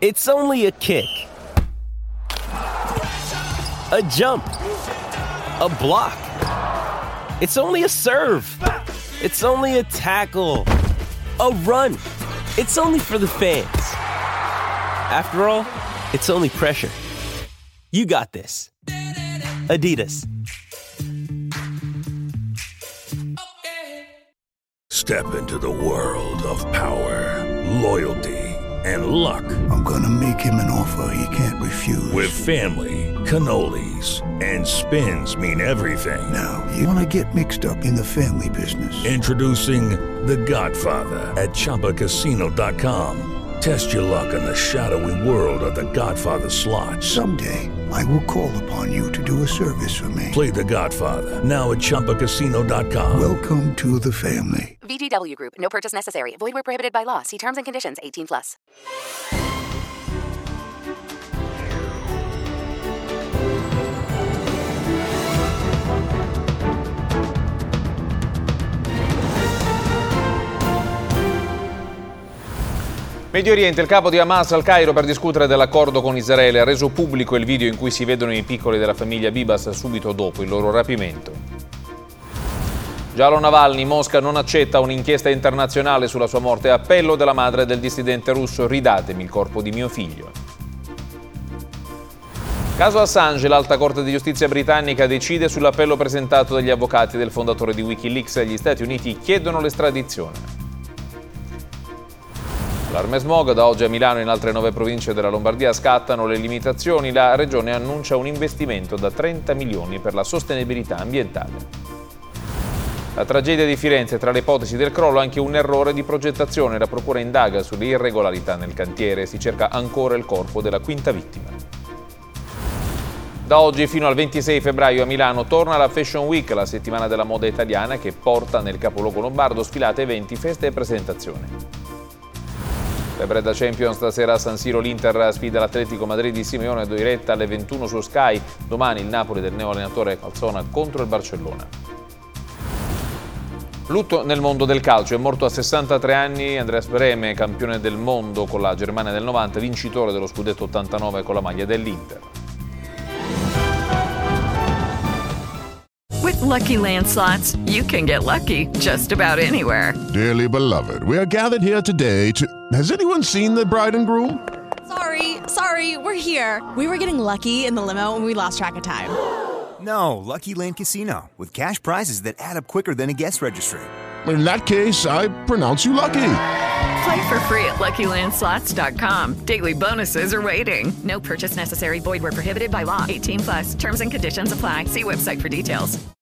It's only a kick. A jump. A block. It's only a serve. It's only a tackle. A run. It's only for the fans. After all, it's only pressure. You got this. Adidas. Step into the world of power, loyalty, and luck. I'm gonna make him an offer he can't refuse. With family, cannolis, and spins mean everything. Now, you wanna get mixed up in the family business. Introducing The Godfather at ChumbaCasino.com. Test your luck in the shadowy world of The Godfather slot. Someday, I will call upon you to do a service for me. Play The Godfather, now at ChumbaCasino.com. Welcome to the family. VGW Group. No purchase necessary. Void where prohibited by law. See terms and conditions. 18+. Medio Oriente, il capo di Hamas al Cairo per discutere dell'accordo con Israele ha reso pubblico il video in cui si vedono i piccoli della famiglia Bibas subito dopo il loro rapimento. Giallo Navalny, Mosca non accetta un'inchiesta internazionale sulla sua morte. Appello della madre del dissidente russo: ridatemi il corpo di mio figlio. Caso Assange, l'Alta Corte di Giustizia britannica decide sull'appello presentato dagli avvocati del fondatore di Wikileaks. Gli Stati Uniti chiedono l'estradizione. Allarme smog, da oggi a Milano e in altre 9 province della Lombardia scattano le limitazioni. La Regione annuncia un investimento da 30 milioni per la sostenibilità ambientale. La tragedia di Firenze, tra le ipotesi del crollo anche un errore di progettazione. La procura indaga sulle irregolarità nel cantiere, si cerca ancora il corpo della quinta vittima. Da oggi fino al 26 febbraio a Milano torna la Fashion Week, la settimana della moda italiana che porta nel capoluogo lombardo sfilate, eventi, feste e presentazioni. Febbre da Champions, stasera a San Siro l'Inter sfida l'Atletico Madrid di Simeone, diretta alle 21 su Sky. Domani il Napoli del neoallenatore Calzona contro il Barcellona. Lutto nel mondo del calcio, è morto a 63 anni Andreas Brehme, campione del mondo con la Germania del 90, vincitore dello scudetto 89 con la maglia dell'Inter. With Lucky Land Slots, you can get lucky just about anywhere. Dearly beloved, we are gathered here today to... Has anyone seen the bride and groom? Sorry, we're here. We were getting lucky in the limo and we lost track of time. No, Lucky Land Casino, with cash prizes that add up quicker than a guest registry. In that case, I pronounce you lucky. Play for free at LuckyLandSlots.com. Daily bonuses are waiting. No purchase necessary. Void where prohibited by law. 18+. Terms and conditions apply. See website for details.